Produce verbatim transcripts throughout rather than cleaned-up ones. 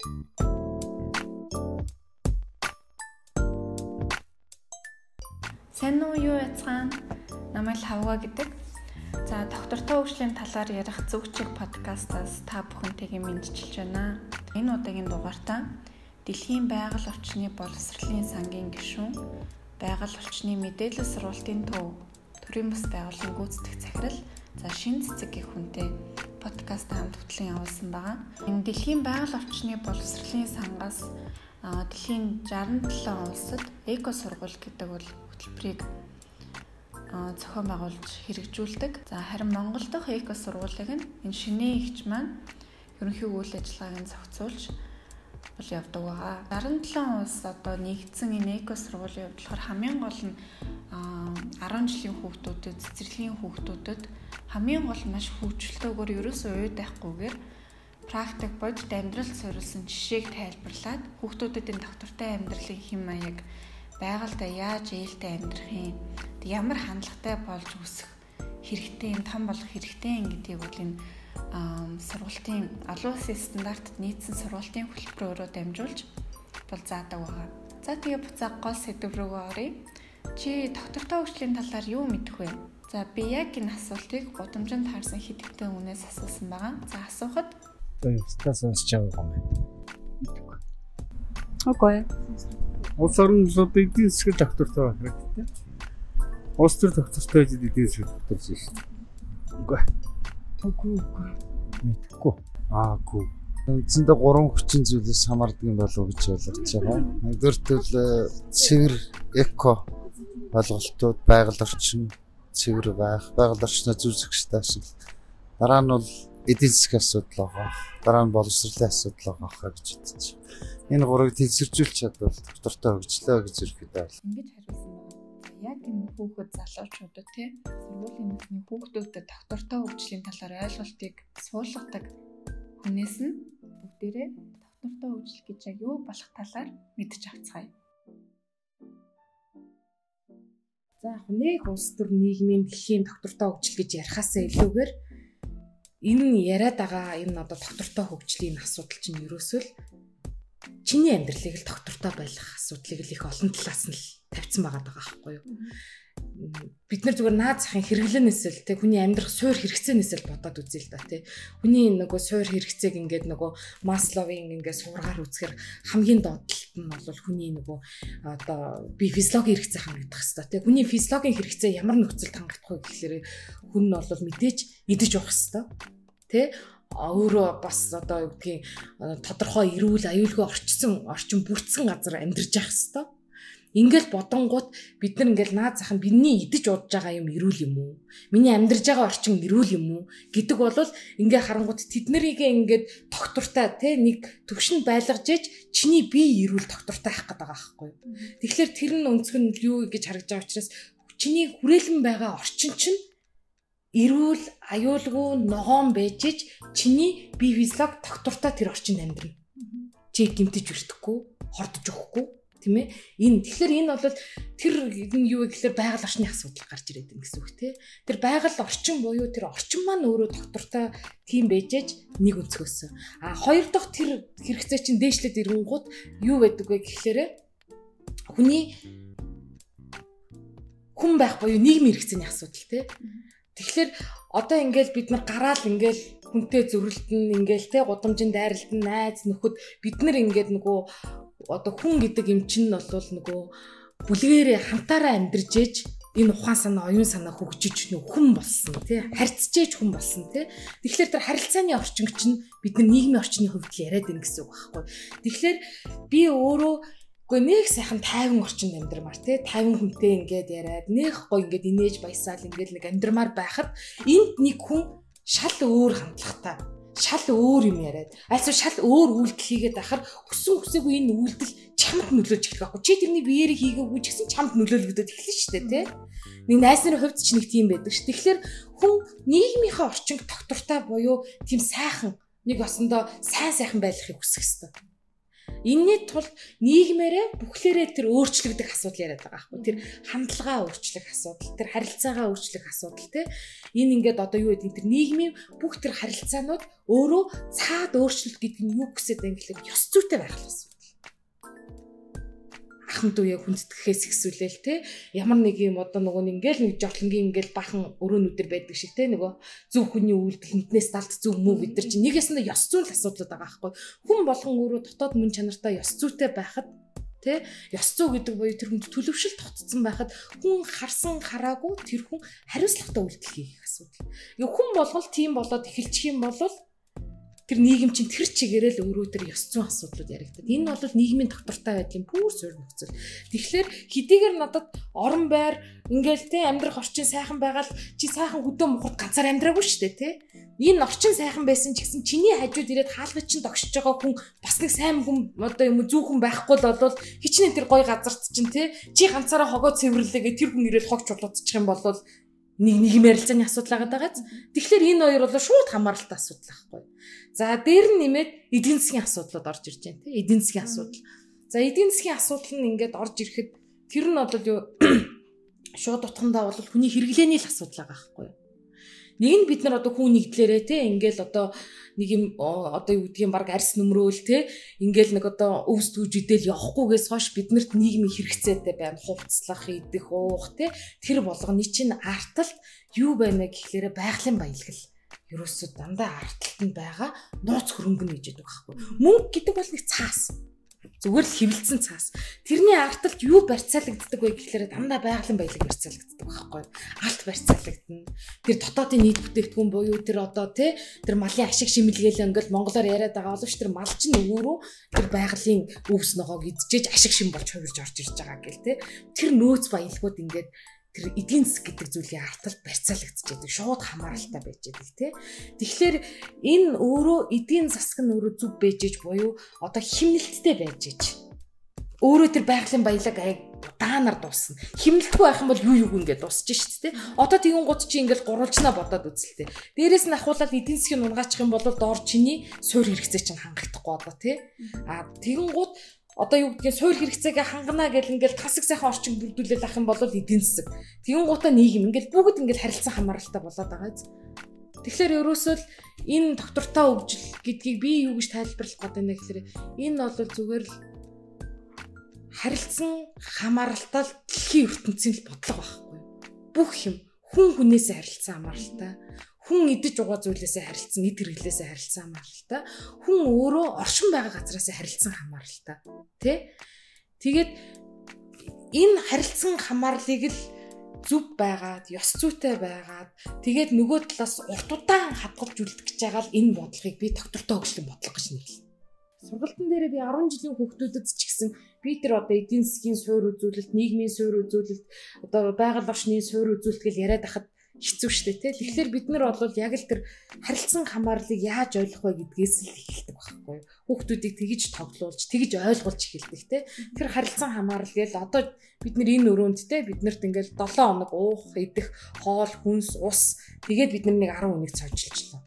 Сайн уу юу яцгаан? Намайг Хавга гэдэг. За доктортой хөгжлийн талаар ярих Зүгчиг подкастаас та бүхэнтэйгээ мэдчилж байна. Энэ удаагийн дугаартаа Дэлхийн байгаль орчны боловсролын сангийн гишүүн, байгаль орчны мэдээлэл сургалтын төв, төрийн бас байгууллагын гүйцэтгэх захирал, за шинэ цэцэг гэх хүнтэй подкаст хамт хөтлөн явуулсан байгаа. Энэ Дэлхийн байгаль орчны боловсролын сангаас дэлхийн шестьдесят и seven улсад эко сургууль гэдэг бол хөтөлбөрийг зохион байгуулж хэрэгжүүлдэг. За харин Монгол дахь эко сургуулийг нь энэ шинэ эгч маань ерөнхий үйл ажиллагааг зохицуулж бол явдаг байгаа. шестьдесят и seven улс одоо нэгдсэн энэ эко сургуулийн хувьд болохоор хамгийн гол нь ten жилийн хүүхдүүдэд, цэцэрлэгийн хүүхдүүдэд хамгийн гол нь маш хөгжилтөөгөр ерөөсөө уйд байхгүйгээр практик бодит амьдралд суурилсан жишээг тайлбарлаад хүүхдүүдэд энэ доктортой амьдралын хэм маяг, байгальдаа яаж ээлтэй амьдрах юм, ямар хандлагатай болж өсөх хэрэгтэй, том болох хэрэгтэй гэдгийг бол энэ сургалтын олон улсын стандартад нийцсэн сургалтын хөтөлбөрөөрөө дамжуулж бол заадаг байгаа. За тэгээ буцаа гол сэдв рүүгээ оръё. Чи доктортой хөгжлийн талаар юу мэдэх вэ? За би яг энэ асуултыг гудамжинд харсан хэд хэдэн үнээс асуусан байгаа. За асуухад Устаа сонсож байгаа юм байна. Окей. Улс орон улсуудын эдийн засгийн доктортой байх хэрэгтэй. Улс төр доктортой гэж эдийн засгийн докторч шүү дээ. Үгүй. Үгүй үгүй. Мэдхгүй. Аа үгүй. Үндсэндээ гурван хүчин зүйлээс хамаардаг юм болов уу гэж ойлгож байгаа. Нэгдүгээртэл цэвэр эко ойлголтууд, байгаль орчин цэвэр байх, байгаль орчноо зөв зөвшөөрөлтэй ашиглах. Дараа нь бол эдийн засгийн асуудал байгаа. Дараа нь боловсролын асуудал байгаа гэж үзэж байна. Энэ гурыг тэнцвэржүүлж чадвал доктортой хөгжлөө гэж ерөөхдөө байна. Ингэж хариулсан байна. Яг энэ хүүхэд залуучуудад тий сургуулийн насны хүүхдүүдэд доктортой хөгжлийн талаар ойлголтыг суулгадаг хүнээс нь бүгдээрээ доктортой хөгжил гэж яг юу болох талаар мэдж авцгаая. За яг нэг улс төр нийгмийн дэлхийн доктортой хөгжил гэж ярихаасаа илүүгээр энэ яриад байгаа энэ одоо доктортой хөгжлийн асуудал чинь ерөөсөө л чиний амьдралыг л доктортой байх асуудлыг л их олон талаас нь л тавьсан байгаа даа байхгүй юу. Бид нар зүгээр наад захын хэрэглэнээс л те хүний амьдрах суур хэрэгцээнээс л бодоод үзье л да те. Хүний нөгөө суур хэрэгцээг ингээд нөгөө Масловын ингээд сургаар үзэхээр хамгийн доотлолт нь бол хүний нөгөө одоо би физиологийн хэрэгцээ хангах хэрэгтэй те. Хүний физиологийн хэрэгцээ ямар нөхцөлд хангах вэ гэхлээр хүн нь бол мэдээж идэж уух хэрэгтэй те. Өөрөө бас одоо юу гэдгийг тодорхой эрүүл аюулгүй орчсон орчин бүрдсэн газар амьдарч явах хэрэгтэй. Ингээл бодонгууд бид нар ингээл наад зах нь бидний идэж удаж байгаа юм эрүүл юм уу? Миний амьдарч байгаа орчин эрүүл юм уу гэдэг бол ингээ харангууд тэд нарыг ингээд доктортай те нэг төвшөнд байлгаж ээж чиний бие эрүүл доктортай байх гэдэг байгаа байхгүй юу? Тэгэхээр тэр нь өнцг нь юу гэж харагдж байгаа учраас чиний хүрээлэн байгаа орчин чинь эрүүл аюулгүй ногоон байж ээж чиний бие физиолог доктортой тэр орчинд амьдрна. Чи гэмтэж өртөхгүй, хордож өгөхгүй тийм ээ. Энэ тэгэхээр энэ бол тэр энэ юу гэхээр байгаль орчны асуудал гарч ирээд байна гэсэн үг тий. Тэр байгаль орчин буюу тэр орчин маань өөрөө доктортой тийм байж ээж нэг өнцгөөс. А хоёр дахь тэр хэрэгцээ чинь дээшлээд ирэнгүүт юу байдаг вэ гэхээр хүний хүн байх буюу нийгмийн хэрэгцээний асуудал тий. Тэгэхээр одоо ингээл бид нар гараал ингээл хүнтэй зөрөлдөн ингээл те гудамжинд дайралтан найз нөхөд бид нар ингээд нөгөө одоо хүн гэдэг юм чинь бол нөгөө бүлгээрээ хамтаараа амьдарч ээж энэ ухаан санаа, оюун санаа хөгжиж нөх хүн болсон тий харьцаж ээж хүн болсон тий. Тэгэхээр тэр харилцааны орчин чинь бид нар нийгмийн орчны хувьд л яриад байна гэсэн үг байхгүй. Тэгэхээр би өөрөө үгүй нэг сайхан тайван орчинд амьдрмаар тий тайван хүнтэй ингээд яриад нэг гоо ингээд инээж баясаал ингээд нэг амьдрмаар байхад энд нэг хүн шал өөр хандлагатай шал өөр юм яриад альсуу шал өөр үйлдэл хийгээд байхаар хүссэн хүсээгүй энэ үйлдэл чамд нөлөөлж эхлэх байхгүй чи тэрний биеэрээ хийгээгүй ч гэсэн чамд нөлөөлөгдөд эхэлнэ шүү дээ тий нэг найз нарын хувьд ч нэг тийм байдаг ш. Тэгэхээр хүн нийгмийнхаа орчинд доктортой буюу тийм сайхан нэг осондоо сайн сайхан байхыг хүсэх хэрэгтэй. Энэний тулд нийгмээрээ бүхлээрээ тэр өөрчлөгдөх асуудал яриад байгаа байхгүй. Тэр хандлагаа өөрчлөх асуудал, тэр харилцаагаа өөрчлөх асуудал тий. Энэ ингээд одоо юу гэдэг тэр нийгмийн бүх тэр харилцаанууд өөрөө цаад өөрчлөлт гэдэг нь юу гэсэд юм гэхэлээ ёс зүйтэй байх асуудал. Ахмад үе хүндэтгэхээс ихсүүлээл те ямар нэг юм одоо нөгөө ингээл нэг жотлонгийн ингээл бахан өрөөнүүдэр байдаг шиг те нөгөө зөв хүний үйлдэл хүнтнээс талд зөв мүү бид нар чинь нэг ясандаа ёс зүйн асуудлууд байгаа байхгүй хүн болгон өөрөө дотоод мөн чанартай ёс зүйтэй байхад те ёс зүй гэдэг буюу тэр хүнд төлөвшил тогтцсон байхад хүн харсан хараагүй тэр хүн хариуцлагатай үйлдэл хийх асуудал. Ингээ хүн болгол тийм болоод эхэлчих юм бол тэр нийгэм чинь тэр чигээрээ л өөрөө тэр ёс зүйн асуудлууд яригддаг. Энэ бол нийгмийн доктортой байдлын бүр суурь нөхцөл. Тэгэхээр хэдийгээр надад орон байр ингээл те амьдрах орчин сайхан байгаад чи сайхан хөдөө мухад ганцаар амьдраагүй шүү дээ те. Энэ орчин сайхан байсан ч гэсэн чиний хажууд ирээд хаалгач чинь тогшиж байгаа хүн бас нэг сайн хүн одоо юм зүүхэн байхгүй л болвол хичнээн тэр гоё газарт чинь те чи ганцаараа хогоо цэвэрлээгээ тэр хүн ирээд хог чулуудчих юм бол нэг нэг ярилцааны асуудал байгаа даа. Тэгэхээр энэ хоёр бол шууд хамааралтай асуудал байхгүй. За дээр нь нэмээд эдийн засгийн асуудлууд орж ирж байна тийм эдийн засгийн асуудал. За эдийн засгийн асуудал нь ингээд орж ирэхэд тэр нь бол юу шууд утгандаа бол хүний хэрэглээний л асуудал байгаа байхгүй. Нэг нь бид нар одоо хүн нэгдлээрээ тийм ингээл одоо нэг юм одоо юу гэдгийг баг арьс нөмрөөл тийм ингээл нэг одоо өвс түүжидэл явахгүйгээс хойш биднэрт нийгмийн хэрэгцээтэй байна хувцлах идэх уух тийм тэр болгоны чинь арталт юу байна гэхлээрэ байгалийн баялгал ерөөсөө дандаа арталтанд байгаа нууц хөрөнгө гэж яддаг байхгүй. Мөнгө гэдэг бол нэг цаас. Зүгээр л хэвлэлцэн цаас. Тэрний арталт юу барьцаалагддаг вэ гэхлээр дандаа байгалийн баялаг барьцаалагддаг байхгүй. Алт барьцаалагдана. Тэр дотоодын нийт бүтээгдэхүүн буюу тэр одоо тий тэр малын ашиг шимэлгээл ингээл монголоор яриад байгаа боловч тэр мал чинь өөрөө тэр байгалийн өвс ногоог идчихэж ашиг шим болж хувирж орж ирж байгаа гэл тий. Тэр нөөц баялагууд ингээд тэр эдийн засаг гэдэг зүйлийн арталт барьцаалагдчихэдэг шууд хамааралтай байж байгаа тий. Тэгэхээр энэ өөрөө эдийн засаг нь өөрөө зүв байж буюу одоо химнэлттэй байж иж. Өөрөө тэр байгалийн баялаг аяг удаанаар дуусна. Химнэлтгүй байх юм бол юу юу ингээд дуусчих шүү дээ тий. Одоо тэгэн гут чи ингээд гурвалжнаа бодоод үзэлтэй. Дээрээс нь ахуулаад эдийн засгийн унгаачих юм бол доор чиний суурь хэрэгцээ чинь хангахдахгүй одоо тий. А тэгэн гут одоо юу гэдгийг суурь хэрэгцээгээ хангана гэл ингээл тасаг сайхан орчин бүрдүүлэл ах юм бол эдийн засаг. Тэгэн гутаа нийгэм ингээл бүгд ингээл харилцан хамааралтай болоод байгаа биз. Тэгэхээр ерөөсөө л энэ доктортой хөгжил гэдгийг би юу гэж тайлбарлах гээд байна гэхээр энэ бол зүгээр л харилцан хамааралтай дэлхийн ертөнцийн л бодлого байхгүй. Бүх юм хүн хүнээсээ харилцан хамааралтай. Хүн идэж угаа зүйлээсээ харилцсан, эд хэрэглээсээ харилцсан хамааралтай. Хүн өөрөө оршин байгаа газараасаа харилцсан хамааралтай. Тэ? Тэгээд энэ харилцсан хамаарлыг л зүв байгаад, ёс зүйтэй байгаад, тэгээд нөгөө талаас урт удаан хадгалж үлдэх гэж байгаа л энэ бодлогыг би доктортой хөгжлийн бодлого гэж нэрлэв. Сургалтын дээрээ би арван жилийн хүүхдүүдэд ч гэсэн би тэр одоо эдийн засгийн суурь үзүүлэлт, нийгмийн суурь үзүүлэлт, одоо байгаль орчны суурь үзүүлэлт гэж яриад ахад хэцүү шттэ тий. Тэгэхээр бид нар бол яг л тэр харилцан хамаарлыг яаж ойлгох вэ гэдгээс л эхэлдэг байхгүй юу. Хүүхдүүдийг тэгж тоглуулж, тэгж ойлгуулж эхэлдэг тий. Тэр харилцан хамаарал гээл одоо бид нар энэ өрөөнд тий биднэрт ингээл долоон хоног уух, идэх, хоол, хүнс, ус тэгээд бид нар нэг арван хүнийг цожжилжлаа.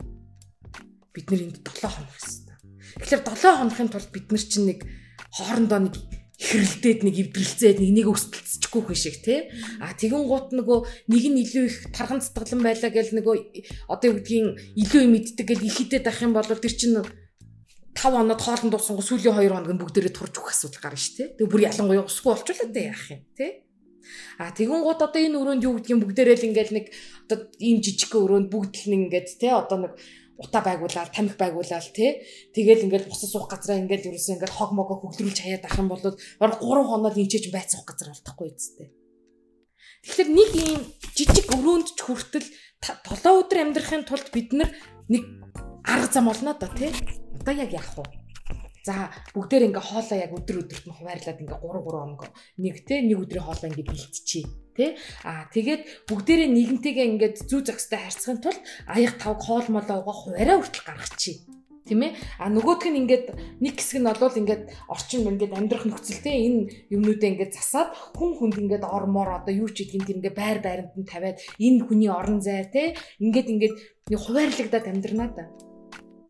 Бид нар энд долоон хоног гэсэн. Тэгэхээр долоон хоногийн тулд бид нар чинь нэг хоорондоо нэг хэрэлдээд нэг эвдрэлцээд нэг нэг өсөлтсөхгүй хүн шиг тий. А тэгэн гут нөгөө нэг нь илүү их тархан цэцгэлэн байлаа гэл нөгөө одоо юу гэдгийг илүү юм иддэг гэл их идэт ах юм бол тэр чинь тав хоноод хоолнд дууссан го сүүлийн хоёр хоног нь бүгдээрээ турж өгөх асуудал гарна шүү тий. Тэгээ бүр ялангуяа усгүй болчихлоо дээ яах юм тий. А тэгэн гут одоо энэ өрөөнд юу гэдгийг бүгдээрээ л ингээл нэг одоо ийм жижиг өрөөнд бүгд л нэг ингээд тий одоо нэг утаа байгуулаад тамхи байгуулаад тий тэгэл ингээл бусад суух газараа ингээл ерөөсөө ингээл хог могоо хөглөрүүлж хаяад ах юм бол бараг гурван хоноод инчээж байцах газар алдахгүй үстэй. Тэгэхээр нэг ийм жижиг өрөөнд ч хүртэл толоо өдөр амьдрахын тулд бид нар нэг арга зам олно да тий. Одоо яг яах вэ? За бүгдээр ингээ хоолоо яг өдөр өдөрт нь хуваарлаад ингээ гурван гурван хоног нэг тий нэг өдрийн хоолоо ингээ бэлтчихье. Тэ а тэгээд бүгдээрээ нэгэнтэйгээ ингээд зүү зохистой харьцахын тулд аяг тавг хоол молоо угаах хуваараа хүртэл гаргачихъя. Тийм ээ. А нөгөөх нь ингээд нэг хэсэг нь болвол ингээд орчин ингээд амьдрах нөхцөлтэй энэ юмнуудаа ингээд засаад хүн хүнд ингээд ормоор одоо юу ч гэдгийг тэр ингээд байр байранд нь тавиад энэ хүний орон зай тэ ингээд ингээд нэг хуваарлагдаад амьдрнаа да.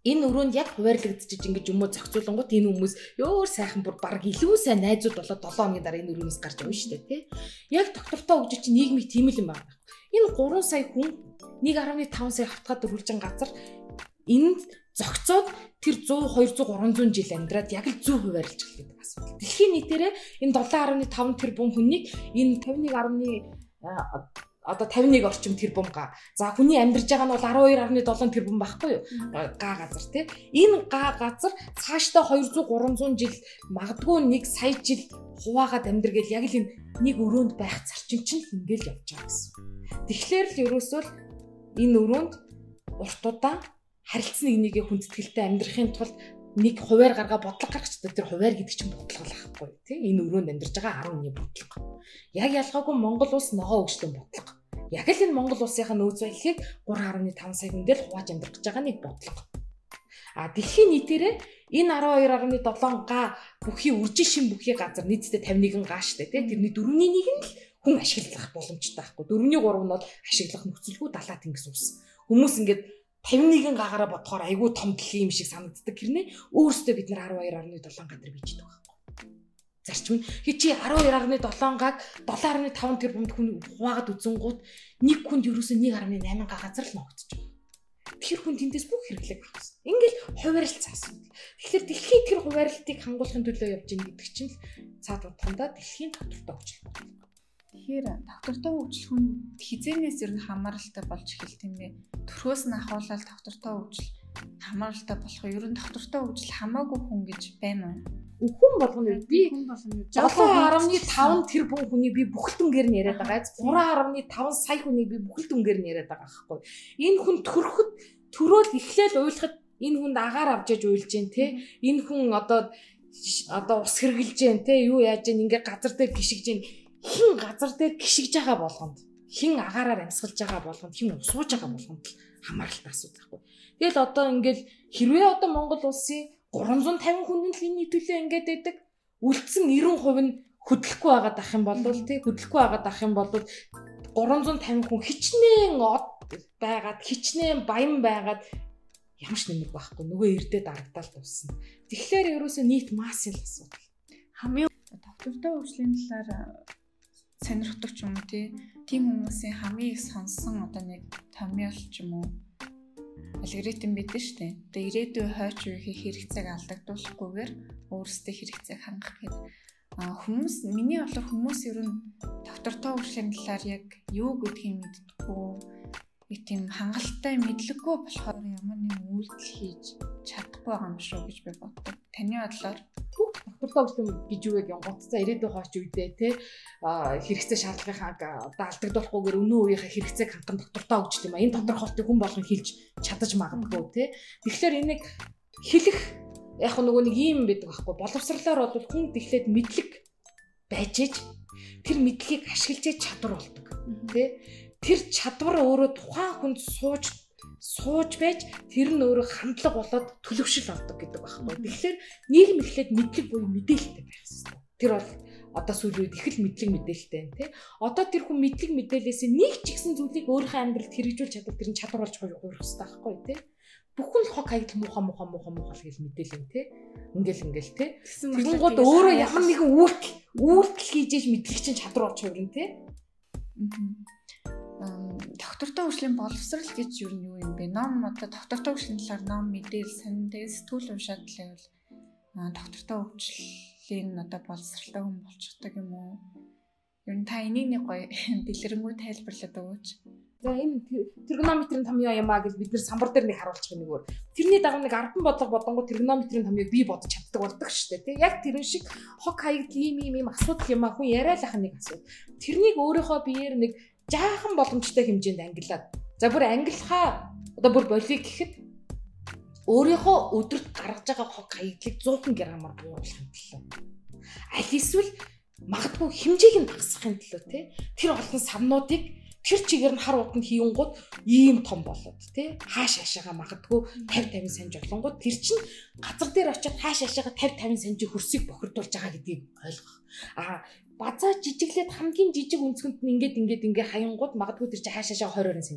Энэ өрөөнд яг хуваарлагдчих ингэж юм уу зохицуулангууд энэ хүмүүс ёор сайхан бүр баг илүү сайн найзууд болоод долоо хоногийн дараа энэ өрөөнөөс гарч явна шүү дээ тий. Яг доктортой хөгжиж чинь нийгмийг тийм л юм байна. Энэ гурван сая хүн нэг гаруй таван сая хавтгаад дөрвөлжин газар энд зохицоод тэр сто двести триста жил амьдраад яг л зөв хуваарлж эхлэх гэдэг асуудал. Дэлхийн нийтээрээ энэ seven point five тэрбум хүнийг энэ fifty-one одоо fifty-one орчим тэрбум га. За хүний амьдарч байгаа нь бол twelve point seven тэрбум байхгүй юу? Га газар тий. Энэ га газар цаашдаа two hundred three hundred жил магадгүй нэг сая жил хуваагаад амьдр гэл яг л энэ нэг өрөөнд байх зарчим чинь ингээл явж байгаа гэсэн. Тэгэхээр л ерөөсөө энэ өрөөнд уртудаа харилцсан нэг нэгээ хүндэтгэлтэй амьдрахын тулд нэг хуваар гаргаа бодлого гаргачдаг. Тэр хуваар гэдэг чинь бодлого л ахгүй тий. Энэ өрөөнд амьдарч байгаа ten бодлого. Яг ялгаагүй Монгол улс ногоо өгчлөн бодлого. Яг л энэ Монгол улсынхаа нөөц байхыг three point five сая хүн дээр хувааж амьдрах гэж байгаа нэг бодлого. А дэлхийн нийтээрээ энэ twelve point seven га бүхий үржин шин бүхий газар нийтдээ fifty-one га штэ тий. Тэрний дөрөвний нэг нь л хүн ашиглах боломжтой байхгүй. Дөрөвний гурав нь бол ашиглах нөхцөлгүй далаа тэнгис ус. Хүмүүс ингээд fifty-one гаагаараа бодохоор айгүй том дэлхийн юм шиг санагддаг. Хэрнээ өөрөөсөө бид нар twelve point seven гадар бийждэг байхгүй. Зарчим нь хий чи twelve point seven гааг seven point five тэрбумд хүн хуваагаад үзэнгууд нэг хүнд ерөөсөө one point eight га газар л ногдож байгаа. Тэр хүн тэндээс бүх хэрэглэг авах гэсэн. Ингээл хуваарлцсан асуудал. Тэгэхээр дэлхийн тэр хуваарлтыг хангуулахын төлөө явж байгаа гэдэг чинь цаад утгандаа дэлхийн доктортой хөгжил байна. Тэгэхээр доктортой хөгжил хүн хизээнээс ер нь хамааралтай болж эхэлт юм бэ. Төрхөөс нь ахуулаад доктортой хөгжил хамааралтай болох ер нь доктортой хөгжил хамаагүй хүн гэж байна уу? Хүн болгоно би seven point five тэрбум хүнийг би бүхэлдүнгээр нь яриад байгаа. three point five сая хүнийг би бүхэлдүнгээр нь яриад байгаа байхгүй. Энэ хүн төрөхөд төрөөл эхлээл уйлахад энэ хүнд агаар авч яж уйлж जैन те. Энэ хүн одоо одоо ус хэрглэж जैन те. Юу яаж जैन ингээ газар дээр гიშгэж जैन. Хин газар дээр гიშгэж байгаа болгонд хин агаараар амьсгалж байгаа болгонд хин усууж байгаа болгонд хамааралтай асуудал байхгүй. Тэгэл одоо ингээл хэрвээ одоо Монгол улсын three hundred fifty хүн нь энэ төлөө ингээд байдаг үлдсэн ninety percent нь хөдлөхгүй байгаад ах юм бол тий хөдлөхгүй байгаад ах юм бол three hundred fifty хүн хичнээн од байгаад хичнээн баян байгаад ямарч нэмэр байхгүй нөгөө эрдээ дарагдаал дуусна. Тэгэхээр ерөөсөө нийт массын асуудал. Хамгийн доктортой хөгжлийн талаар сонирхдаг ч юм уу тий тийм хүмүүсийн хамгийн их сонсон одоо нэг томьёол ч юм уу алгоритм бидэн штэ. Одоо ирээдүйн хойч үеийн хэрэгцээг алдагдуулахгүйгээр өөрсдөө хэрэгцээг хангах гэдэг. А хүмүүс миний бодлоор хүмүүс ер нь доктортой хөгжлийн талаар яг юу гэдгийг мэддэггүй. Би тийм хангалттай мэдлэггүй болохоор ямар нэг үйлдэл хийж чадахгүй байгаа юм шүү гэж би боддог. Таны бодлоор доктортой хөгжил гэж юу вэ? Гоцтой ирээдүйн хойч үедээ те хэрэгцээ шаардлагынхаа одоо алдагдуулахгүйгээр өнөө үеийнхээ хэрэгцээг хангах доктортой хөгжил юм а. Энэ тодорхойлтыг хүн болгон хэлж чадаж магадгүй те. Тэгэхээр энийг хэлэх яг нөгөө нэг юм байдаг байхгүй. Боловсрлоор бол хүн тэгэхээр мэдлэг байж ээж тэр мэдлэгийг ашиглаж чадвар болдог те. Тэр чадвар өөрөө тухайн хүнд сууж сууж байж тэр нь өөрөө хандлага болоод төлөвшил авдаг гэдэг байхгүй. Тэгэхээр нийгэм эхлээд мэдлэг буюу мэдээлэлтэй байх хэрэгтэй. Тэр бол одоо сүүлийн үед их л мэдлэг мэдээлэлтэй байна тий. Одоо тэр хүн мэдлэг мэдээлэлээс нэг ч ихсэн зүйлийг өөрийнхөө амьдралд хэрэгжүүлж чадвал тэр нь чадвар болж хувирах хэрэгтэй байхгүй тий. Бүхэн л хог хаягд муухай муухай муухай муухай л гэж мэдээлэн тий. Ингээл ингээл тий. Тэгэнгүүт өөрөө ямар нэгэн үйлдэл үйлдэл хийж ээж мэдлэг чинь чадвар болж хувирна тий. Доктортой хөгжлийн боловсрал гэж юу юм юм бэ? Ном одоо доктортой хөгжлийн талаар ном мэдээл санаа сэтгүүл уншаад л байвал доктортой хөгжлийн одоо боловсралтай хүн болчихдаг юм уу? Ер нь та энийг нэг гоё дэлгэрэнгүй тайлбарлаад өгөөч. За энэ тригонометрийн томьёо юм аа гэж бид нэр самбар дээр нэг харуулчих нэг өөр. Тэрний дагуу нэг ардан бодлого бодонгоо тригонометрийн томьёог бий бодож чаддаг болдог шүү дээ. Тэг яг тэрэн шиг хог хаягд ийм ийм ийм асуудал юм аа хүн яриалах нэг асуудал. Тэрнийг өөрийнхөө биеэр нэг жаахан боломжтой хэмжээнд ангилаад. За бүр ангилахаа одоо бүр болиг гэхэд өөрийнхөө өдөрт гаргаж байгаа хог хаягдлыг one hundred граммаар бууруулахын төлөө. Аль эсвэл магадгүй хэмжээг нь багасгахын төлөө тий. Тэр олон савнуудыг тэр чигээр нь хар утанд хийнгууд ийм том болоод тий. Хааш хаашаага магадгүй fifty fifty санж олонгууд тэр чинь газар дээр очиод хааш хаашаага fifty fifty санжийн хөрсийг бохирдуулж байгаа гэдгийг ойлгох. Аа базаа жижиглээд хамгийн жижиг өнцгөнд нь ингээд ингээд ингээ хаянгууд магадгүй тэр чинь хааш хаашаа twenty сантиметр болно.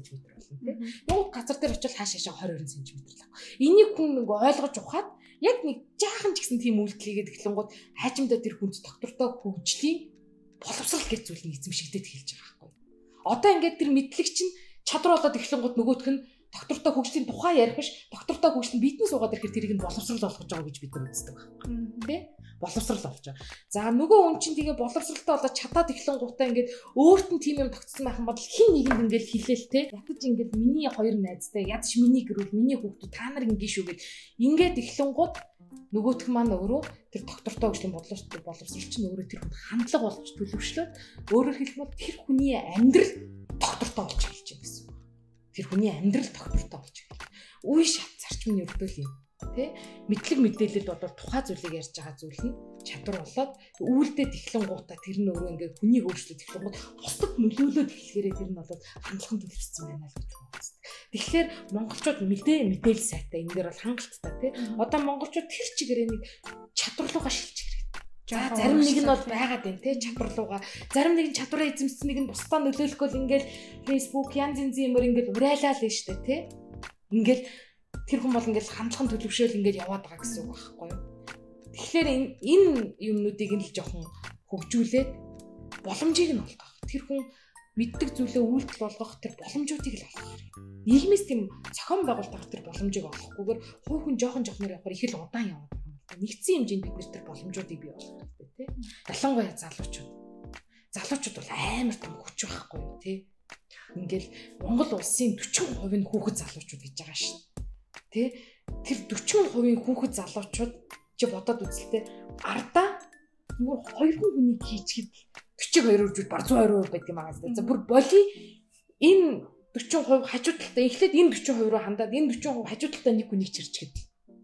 болно тийм. Нөгөө газар дээр очил хааш хаашаа twenty two сантиметр л авах. Энийг хүн нэг ойлгож ухаад яг нэг жаахан ч гэсэн тийм үйлдэл хийгээд эхлэнгууд хайчимдаа тэр хүнд доктортой хөгжлийн боловсрал гэж зүйл нь эзэмшигдээд эхэлж байгаа байхгүй. Одоо ингээд тэр мэдлэг чинь чадвар болоод эхлэнгууд нөгөөх нь доктортой хөгжлийн тухай ярих биш, доктортой хөгжлийн бидэн суугаад ирэхээр тэрийг нь боловсрал болгож байгаа гэж бид нар үздэг байхгүй. Тэ? Боловсрал болж байгаа. За нөгөө хүн чинь тэгээ боловсралтай болоод чадаад эхлэнгуудаа ингээд өөрт нь тийм юм тогтсон байх юм бол хин нэгэнд ингээд хэлээл тэ. Ятаж ингээд миний хоёр найзтай, ядаж миний гэрүүл, миний хүүхдүүд та нар ингээд шүү гэд ингээд эхлэнгууд нөгөөх маань өөрөө тэр доктортой хөгжлийн боловсрал боловсрал чинь өөрөө тэр хүн хандлага болж төлөвшлөө. Өөрөөр хэлбэл тэр хүний амьдрал доктортой болж эхэлж байгаа гэсэн. Тэр хүний амьдрал доктортой болж эхэлж. Үе шат зарчмын өрдөл юм. Тэ мэдлэг мэдээлэл бол тухай зүйлийг ярьж байгаа зүйл нь чадвар болоод үйлдэл эхлэнгуудаа тэр нь өөрөө ингээд хүнийг өөрчлөж эхлэнгууд бусдад нөлөөлөд эхлэхээрээ тэр нь бол хандлагын төлөвшсөн байна л гэж байна. Тэгэхээр монголчууд мэдээ мэдээлэл сайтай энэ дээр бол хангалттай тий. Одоо монголчууд тэр чигээрээ нэг чадвар руугаа шилжих хэрэгтэй. За зарим нэг нь бол байгаад байна тий чадвар руугаа. Зарим нэг нь чадвараа эзэмсэн нэг нь бусдаа нөлөөлөхгүй л ингээд Facebook янз янзын юмор ингээд урайлаа л штэ тий. Ингээд тэр хүн бол ингээд хандлагын төлөвшөөл ингээд яваад байгаа гэсэн үг байхгүй юу. Тэгэхээр энэ энэ юмнуудыг нь л жоохон хөгжүүлээд боломжийг нь олгох. Тэр хүн мэддэг зүйлээ үйлдэл болгох тэр боломжуудыг л олгох хэрэгтэй. Нийгмээс тийм зохион байгуулалт тэр боломжийг олохгүйгээр хувь хүн жоохон жоохноор явахаар их л удаан яваад байгаа юм байна. Нэгдсэн хэмжээнд бид нэр тэр боломжуудыг бий болгох хэрэгтэй тий. Ялангуяа залуучууд. Залуучууд бол амар том хүч байхгүй юу тий. Ингээл Монгол улсын forty percent нь хүүхэд залуучууд гэж байгаа шин. Тэ тэр forty percent хүүхэд залуучууд чи бодоод үзэлтэй ардаа нөгөө хоёр хүн хүнийг хийчихэд forty-two үржүүд бар one hundred percent байдаг юм аа. За бүр боли энэ forty percent хажуу талтай эхлээд энэ forty percent руу хандаад энэ forty percent хажуу талтай нэг хүнийг чирчгээд.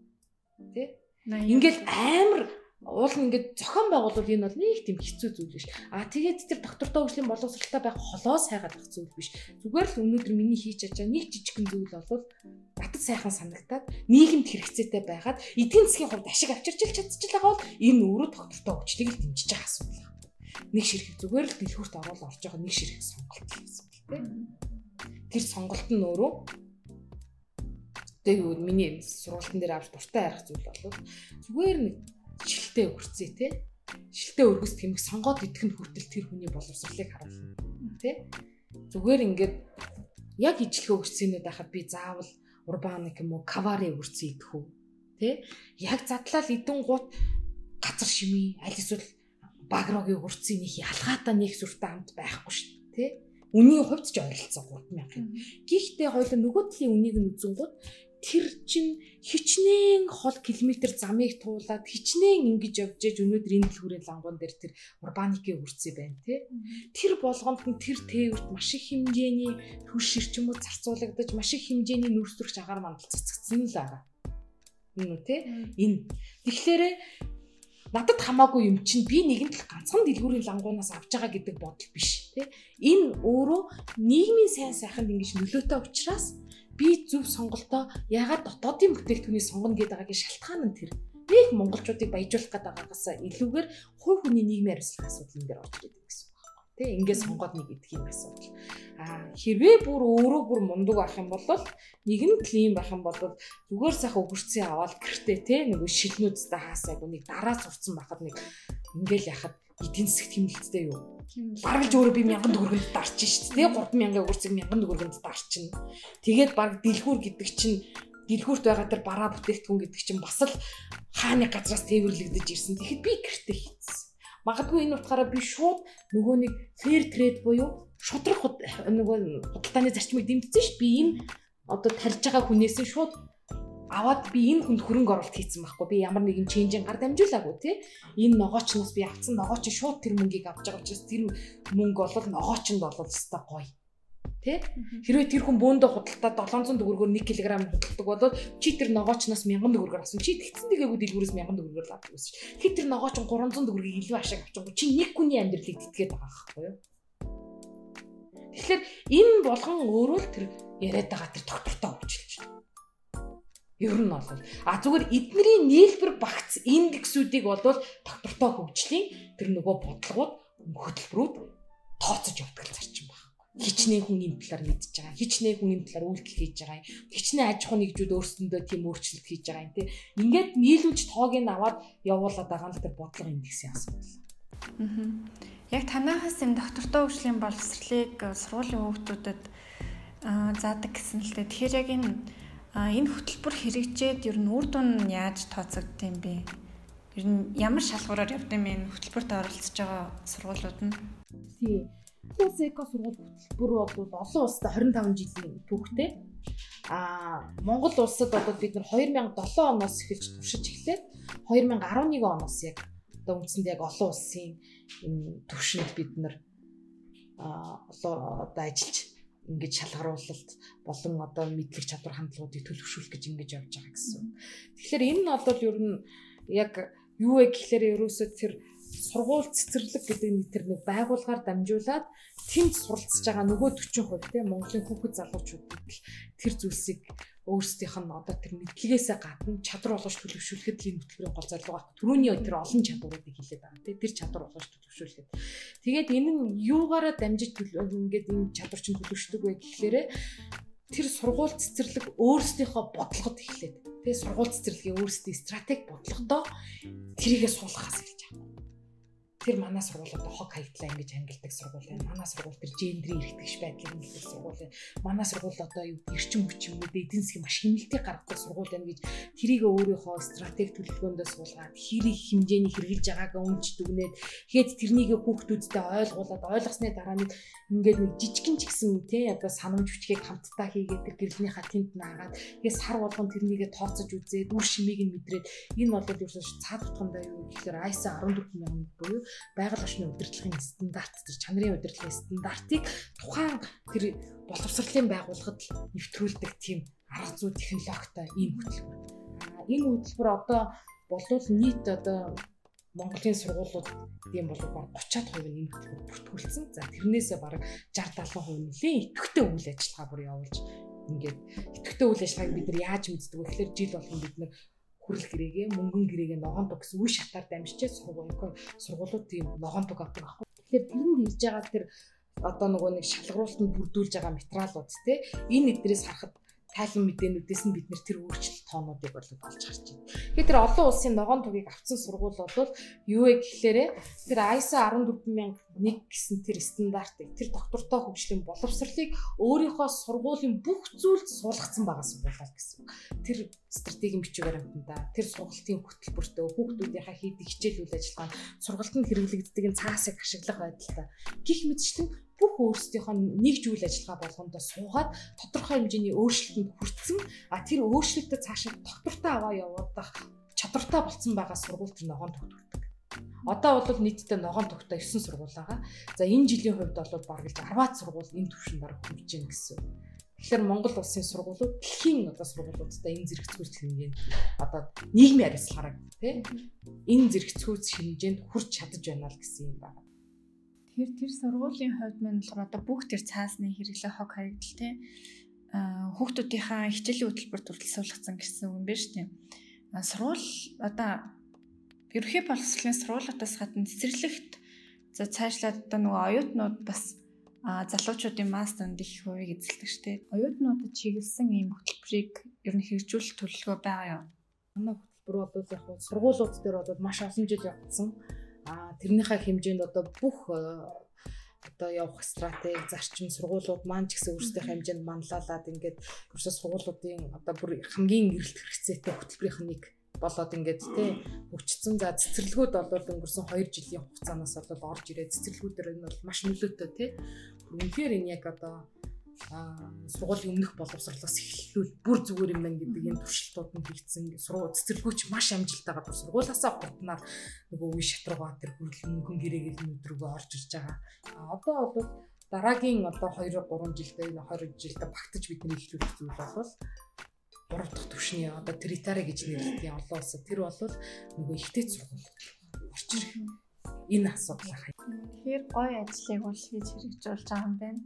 Тэ? Ингээл амар уул нь ингээд зохион байгуулвал энэ бол нэг тийм хэцүү зүйл биш. А тэгээд тэр доктортой хөгжлийн боловсралтай байх холоос хайгаад ах зүйл биш. Зүгээр л өнөөдөр миний хийж чадж байгаа нэг жижигхэн зүйл бол батд сайхан санагтаад нийгэмд хэрэгцээтэй байгаад эдийн засгийн хувьд ашиг авчирч чадчих байгаа бол энэ өөрөө доктортой хөгжлийг л дэмжиж байгаа асуудал. Нэг ширхэг зүгээр л дэлгүүрт оруулаад орж байгаа нэг ширхэг сонголт гэсэн үг тийм. Тэр сонголт нь өөрөө тэгээд миний сургалтын дээр авч дуртай харах зүйл бол зүгээр нэг шилтэй өргөцөө те шилтэй өргөс тэмэг сонгоод идэх нь хүртэл тэр хүний боловсролыг харуулна те зүгээр ингээд яг ижлэх өргөцөөнүүд байхад би заавал урбаник юм уу кавари өргөцөө идэх үү те яг задлал идэн гут газар шимий аль эсвэл багрогийн өргөцөөний ялгаатай нэг сүртэй хамт байхгүй шүү те үнийн хувьд ч ойролцоо three thousand. Гэхдээ хоёул нөгөө талын үнийг нь үзэнгүүт тэр чин хичнээн хол километр замыг туулаад хичнээн ингэж явж ээж өнөөдөр энэ дэлгүүрийн лангуун дээр тэр урбаникийн үрцээ байна тий. Тэр болгонд нь тэр тээвэрт маш их хэмжээний түр ширчмүүд зарцуулагдаж маш их хэмжээний нүүрс төрх агаар мандал цэцэгдсэн л байгаа. Энэ үү тий. Энэ тэгэхээр надад хамаагүй юм чинь би нэгэн тал ганцхан дэлгүүрийн лангуунаас авч байгаа гэдэг бодол биш тий. Энэ өөрөө нийгмийн сайн сайханд ингэж нөлөөтэй учраас би зөв сонголтоо ягаад дотоодын бүтээгдэхүүнийг сонгоно гэдэг агагийн шалтгаан нь тэр. Нэг монголчуудыг баяжуулах гэдэг агаагаас илүүгээр хувь хүний нийгмийн хариуцлагын асуудал энэ дээр орж ирдэг гэсэн үг байна. Тэ ингээд сонгоод нэг идэх юм асуудал. Аа хэрвээ бүр өөрөө бүр мундаг байх юм бол нэгэн клим байх юм бол зүгээр сайхан өгөрцөө аваад гэртээ тэ нэг шилнүүдтэй хаасайг нэг дараа сурцсан байхад нэг ингээл яхад эдийн засгт хэмнэлттэй юу. Бараг л өөрөө би мянган төгрөгөнд дарчих шүү дээ. three thousand өгөрцөг мянган төгрөгөнд дарчин. Тэгээд баг дэлгүүр гэдэг чинь дэлгүүрт байгаа тэр бараа бүтээгдэхүүн гэдэг чинь бас л хааны газраас тээвэрлэгдэж ирсэн. Тэгэхэд би гэртээ хийцсэн. Магадгүй энэ утгаараа би шууд нөгөө нэг fair trade буюу шудрах нөгөө худалдааны зарчмыг дэмжсэн шүү. Би энэ одоо тарьж байгаа хүнээс шууд аваад би энэ хүнд хөрөнгө оруулалт хийсэн байхгүй. Би ямар нэгэн ченжийн гар дамжуулаагүй тий. Энэ ногоочноос би авсан ногооч шууд тэр мөнгийг авч байгаа учраас тэр мөнгө бол ногоочнд болол өстой гоё. Тий? Хэрвээ тэр хүн бөөндөө худалдаад seven hundred төгрөгөөр one килограмм худалдаг бол чи тэр ногоочноос one thousand төгрөгөөр авсан. Чи тэгсэн дээгүү дэлгүүрээс one thousand төгрөгөөр л авдаг гэсэн чинь. Тэгэхээр тэр ногооч three hundred төгрөгийг илүү ашиг авчихгүй. Чи нэг хүний амьдралыг тэтгээд байгаа байхгүй юу? Тэгэхээр энэ болгон өөрөө л тэр яриад байгаа тэр доктортой хөгжилж байна. Ер нь бол а зүгээр эднэрийн нийлбэр багц индексүүдийг бол доктортой хөгжлийн тэр нөгөө бодлогууд хөтөлбөрүүд тооцож явдаг зарчим байхгүй. хичнээн хүн энэ талаар мэдж байгаа. Хичнээн хүн энэ талаар үйлдэл хийж байгаа. Хичнээн аж ахуйн нэгжүүд өөрсдөндөө тийм өөрчлөлт хийж байгаа юм тий. Ингээд нийлүүлж тоог нь аваад явуулаад байгаа л тэр бодлого индексийн асуудал. Аа. Яг танахаас энэ доктортой хөгжлийн боловсролыг сургуулийн хүүхдүүдэд заадаг гэсэн л дээ. Тэгэхээр яг энэ энэ хөтөлбөр хэрэгжээд ер нь үр дүн нь яаж тооцогдсон юм бэ? Ер нь ямар шалгуураар явд юм бэ хөтөлбөрт оролцож байгаа сургуулиуд нь? Тий. Эко сургууль хөтөлбөр бол олон улсад хорин таван жилийн түүхтэй. Аа Монгол улсад одоо бид нар две тысячи седем оноос эхэлж туршиж эхлээд две тысячи eleven оноос яг одоо үндсэндээ яг олон улсын энэ төвшөнд бид нар аа одоо ажиллаж ингэж шалгаруулалт болон одоо мэдлэг чадвар хандлагуудыг төлөвшүүлэх гэж ингэж явж байгаа гэсэн. Тэгэхээр энэ нь бол ер нь яг юу вэ гэхээр ерөөсөө тэр сургууль цэцэрлэг гэдэг нэг тэр нэг байгууллагаар дамжуулаад тэнд суралцж байгаа нөгөө forty percent тийм Монголын хүүхэд залуучуудад тэр зүйлсийг өөрсдийнх нь одоо тэр мэдлэгээсээ гадна чадвар болгож төлөвшүүлэхэд л энэ хөтөлбөрийн гол зорилго байна. Түрүүний тэр олон чадваруудыг хэлээд байгаа тийм тэр чадвар болгож төлөвшүүлэхэд. Тэгээд энэ нь юугаараа дамжиж ингээд энэ чадвар чинь төлөвшдөг вэ гэхээр тэр сургууль цэцэрлэг өөрсдийнхөө бодлогод эхлээд тэгээ сургууль цэцэрлэгийн өөрсдийн стратеги бодлогодоо тэрийгээ суулгахаас эхэлж байгаа. Тэр манай сургуулиудаа хог хаягдлаа ингэж ангилдаг сургууль байна. Манай сургууль тэр гендрийн эргэтгэж байдлыг ангилдаг сургууль байна. Манай сургууль одоо юу эрчим хүчин юм эдийн засгийн маш хэмнэлтийг гаргадаг сургууль байна гэж тэрийг өөрийнхөө стратеги төлөвлөгөөндөө суулгаад хэрэг хэмжээний хэрэгжилж байгаагаа үнж дүгнээд тэгээд тэрнийг хүүхдүүдтэй ойлгуулад ойлгосны дараа нэг ингээд нэг жижигэн ч гэсэн тий одоо санамж хүчгийг хамтдаа хийгээд тэр гэрлийнхаа тэнд наагаад тэгээд сар болгон тэрнийгээ тооцож үзээд үр шимийг нь мэдрээд энэ бол ерөөсөө цаад утгандаа юу гэхээр ай эс ар fourteen thousand буюу байгаль орчны удирдлагын стандарт, тэр чанарын удирдлагын стандартыг тухайн тэр боловсролын байгууллагад нэвтрүүлдэг тийм арга зүй технологитой ийм хөтөлбөр. Аа энэ хөтөлбөр одоо болвол нийт одоо Монголын сургуулиуд тийм бол баг thirty percent нь энэ хөтөлбөр бүртгүүлсэн. За тэрнээсээ баг sixty seventy percent нэлийн идэвхтэй үйл ажиллагаа бүр явуулж ингээд идэвхтэй үйл ажиллагааг бид нар яаж мэддэг вэ гэхээр жил болгон бид нар хүрэл гэрээгээ мөнгөн гэрээгээ ногоон туг гэсэн үе шатаар дамжиж сургууль сургуулиуд тийм ногоон туг авдаг аахгүй. Тэгэхээр тэрэнд хийж байгаа тэр одоо нөгөө нэг шалгаруулалтанд бүрдүүлж байгаа материалууд те энэ эдрээс харахад тайлан мэдээнүүдээс нь бид нэр тэр өөрчлөлт тоонуудыг бол олж харж байна. Тэгэхээр тэр олон улсын ногоон тугийг авсан сургууль бол юу вэ гэхээр тэр ай эс эй fourteen thousand one гэсэн тэр стандартыг тэр доктортой хөгжлийн боловсролыг өөрийнхөө сургуулийн бүх зүйлд суулгацсан байгаа сургууль гэсэн. Тэр стратегийн бичиг баримтанда тэр сургалтын хөтөлбөртөө хүүхдүүдийнхээ хийдэг хичээл үйл ажиллагаа сургалтанд хэрэглэгддэг энэ цаасыг ашиглах байдалтай гих мэтчлэн бүх өөрсдийнхөө нэгж үйл ажиллагаа болгондоо суугаад тодорхой хэмжээний өөрчлөлтөнд хүрсэн а тэр өөрчлөлтөд цаашаа доктортой аваа явуулах чадвартай болсон байгаа сургууль тэр ногоон тугт хүрдэг. Одоо бол нийтдээ ногоон тугтай nine сургууль байгаа. За энэ жилийн хувьд бол бараг л ten сургууль энэ түвшинд бараг хүрж гэнэ гэсэн. Тэгэхээр Монгол улсын сургуулиуд дэлхийн одоо сургуулиудтай энэ зэрэгцүүлж хэмжээнд одоо нийгмийн хариуцлагаараа тий энэ зэрэгцүүлж хэмжээнд хүрч чадаж байна л гэсэн юм байна. Тэгэхээр тэр сургуулийн хувьд мань болохоор одоо бүх тэр цаасны хэрэглээ хог хаягдал тий хүүхдүүдийнхээ хичээлийн хөтөлбөрт хүртэл суулгацсан гэсэн үг юм байна шүү дээ. Сургууль одоо ерөнхий боловсролын сургуулиудаас гадна цэцэрлэгт за цаашлаад одоо нөгөө оюутнууд бас залуучуудын мастернд их хувийг эзэлдэг шүү дээ. Оюутнуудад чиглэсэн ийм хөтөлбөрийг ер нь хэрэгжүүлэх төлөвлөгөө байгаа юу? Манай хөтөлбөр бол яг сургуулиуд дээр бол маш олон жил явагдсан. А тэрнийхээ хэмжээнд одоо бүх одоо явах стратеги, зарчим сургуулиуд маань ч гэсэн өөрсдийнхээ хэмжээнд манлайлаад ингээд ерөөсөө сургуулиудын одоо бүр хамгийн эрэлт хэрэгцээтэй хөтөлбөрийн нэг болоод ингээд тий хөгжсөн. За цэцэрлэгүүд бол өнгөрсөн two жилийн хугацаанаас бол орж ирээд цэцэрлэгүүдээр энэ бол маш нөлөөтэй тий. Үнэхээр энэ яг одоо сургуулийн өмнөх боловсролоос эхлүүл бүр зүгээр юм байна гэдэг энэ туршилтууд нь хийгдсэн. Сургууль цэцэрлэгүүч маш амжилттайгаар бүр сургуулиасаа хурднаар нөгөө үе шатруугаа тэр хөрөлмөнгөн гэрээгээл нүдрүүгөө орж ирж байгаа. А одоо бол дараагийн одоо two three жилдээ энэ twenty жилдээ багтаж бидний эхлүүлэх зүйл бол гурав дахь түвшний одоо теритари гэж нэрлэдэг олон улсад тэр бол нөгөө ихтэй сургууль орж ирэх энэ асуудал хай. Тэгэхээр гоё ажлыг бол хийж хэрэгжүүлж байгаа юм байна.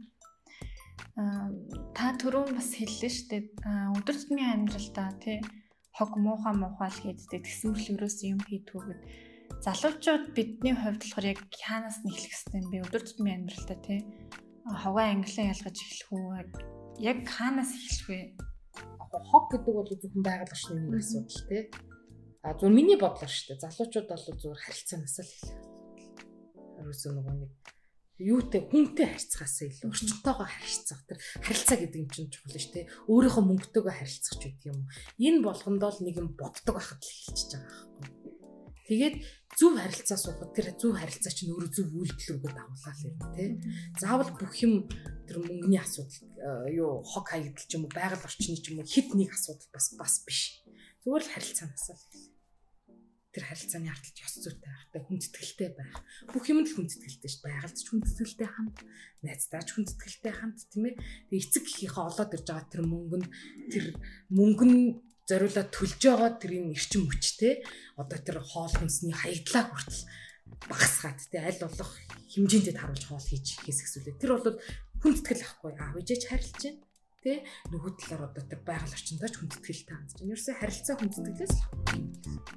Аа та түрүүн бас хэллээ шүү дээ. Өдөр тутмын амьдралдаа тий хог муухай муухай л хийддэг тэгсэн мөрөл ерөөс юм хийдгүүгээд залуучууд бидний хувьд болохоор яг хаанаас нь эхлэх хэвтэй юм бэ? Өдөр тутмын амьдралдаа тий хаваа англиар ялгаж эхлэх үү? Яг хаанаас эхлэх вэ? Хог гэдэг бол зөвхөн байгаль орчны нэг асуудал тий. А зөв миний бодлоор шүү дээ. Залуучууд бол зөвхөн харилцаанаас л эхлэх. Ерөөсөө нөгөө нэг юутэй хүнтэй харьцахаас илүү орчинтойгоо харьцах. Тэр харилцаа гэдэг юм чинь чухал шүү дээ. Өөрийнхөө мөнгөтэйгөө харьцах ч гэдэг юм. Энэ болгондоо л нэг юм боддог байхад л эхэлчихэж байгаа байхгүй. Тэгээд зөв харилцаа суухад тэр зөв харилцаа чинь өөрөө зөв үйлдэл рүүгээ дагуулаад ирнэ тий. Заавал бүх юм тэр мөнгөний асуудал юу хог хаягдал ч юм уу байгаль орчны ч юм уу хэд нэг асуудал бас бас биш. Зүгээр л харилцаанаас л тэр харилцааны ардталж ёс зүйтэй байх, хүндэтгэлтэй байх. Бүх юмд л хүндэтгэлтэй шүү дээ. Байгальд ч хүндэтгэлтэй ханд, найздаа ч хүндэтгэлтэй ханд тийм ээ. Тэгээ эцэг эхийнхээ олоод ирж байгаа тэр мөнгө нь тэр мөнгө нь зориулаад төлж байгаа тэрийн эрчим хүчтэй одоо тэр хоол хүнсний хаягдлаа хүртэл багасгаад тий аль болох хэмжээндээ харуулж хоол хийж хийсгэсүүлээ. Тэр бол хүндэтгэл ахгүй аав ээжээ ч харилж байна тий нөгөө талаар одоо тэр байгаль орчиндөө ч хүндэтгэлтэй хандж байна. Ерөөсөө харилцаа хүндэтгэлээс л